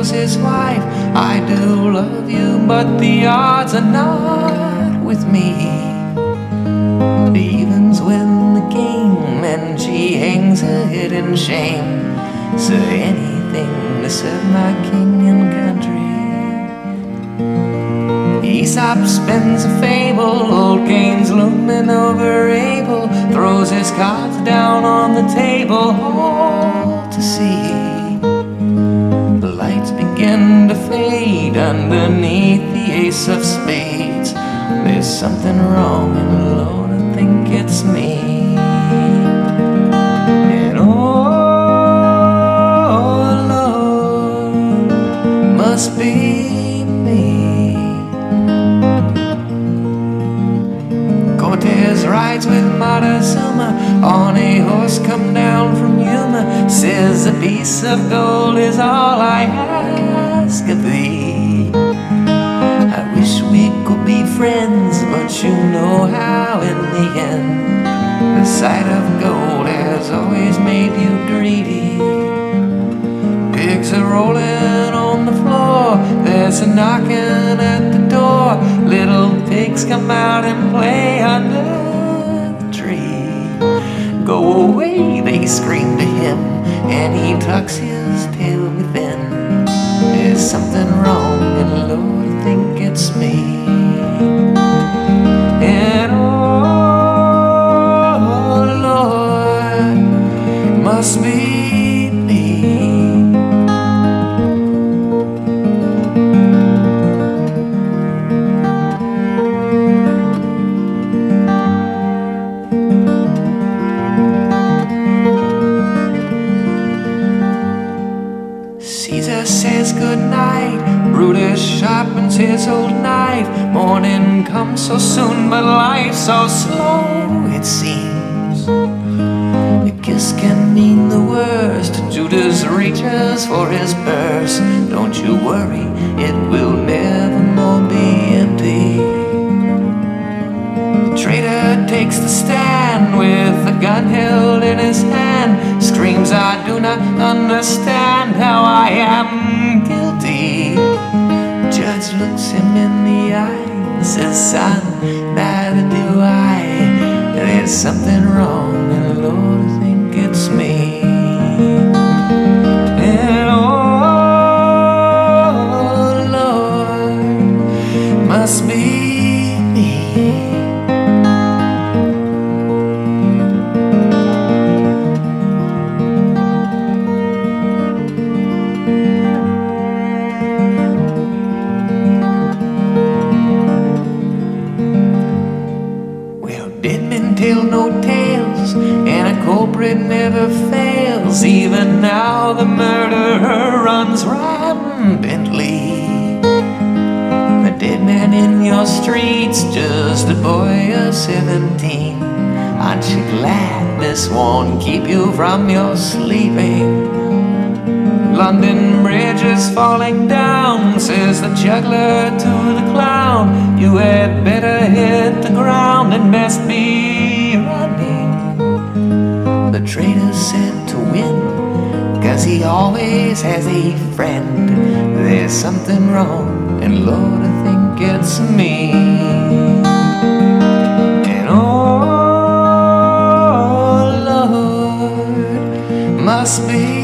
tells his wife, I do love you, but the odds are not with me. The evens win the game, and she hangs her head in shame. So anything to serve my king and country. Aesop spins a fable, old Cain's looming over Abel, throws his cards down on the table, all to see. The lights begin to fade underneath the ace of spades. There's something wrong, and Lord, I think it's me. And oh Lord, must be me. Cortez rides with Montezuma on a horse come down from Yuma. Says a piece of gold is all I ask of thee. I wish we could be friends, but you know how in the end the sight of gold has always made you greedy. Pigs are rolling on the floor, there's a knocking at the door. Little pigs come out and play under the tree. Go away, they scream to him, and he tucks his tail within. There's something wrong, and Lord, I think it's me. And oh Lord, must be me. Caesar says goodnight, Brutus sharpens his old knife. Morning comes so soon, but life's so slow, it seems. A kiss can mean the worst. Judas reaches for his purse. Don't you worry, it will never more be empty. The traitor takes the stand with a gun held in his hand. Screams, I do not understand how I am guilty. Judge looks him in the eye, says, son, neither do I. There's something wrong, and Lord, I think it's me. And oh Lord, must be me. Dead men tell no tales, and a culprit never fails. Even now the murderer runs rampantly. A dead man in your streets, just a boy of 17. Aren't you glad this won't keep you from your sleeping? London Bridge is falling down, says the juggler to the clown. You had better hit the ground and best be running. The traitor's said to win, 'cause he always has a friend. There's something wrong, and Lord, I think it's me. And oh Lord, must be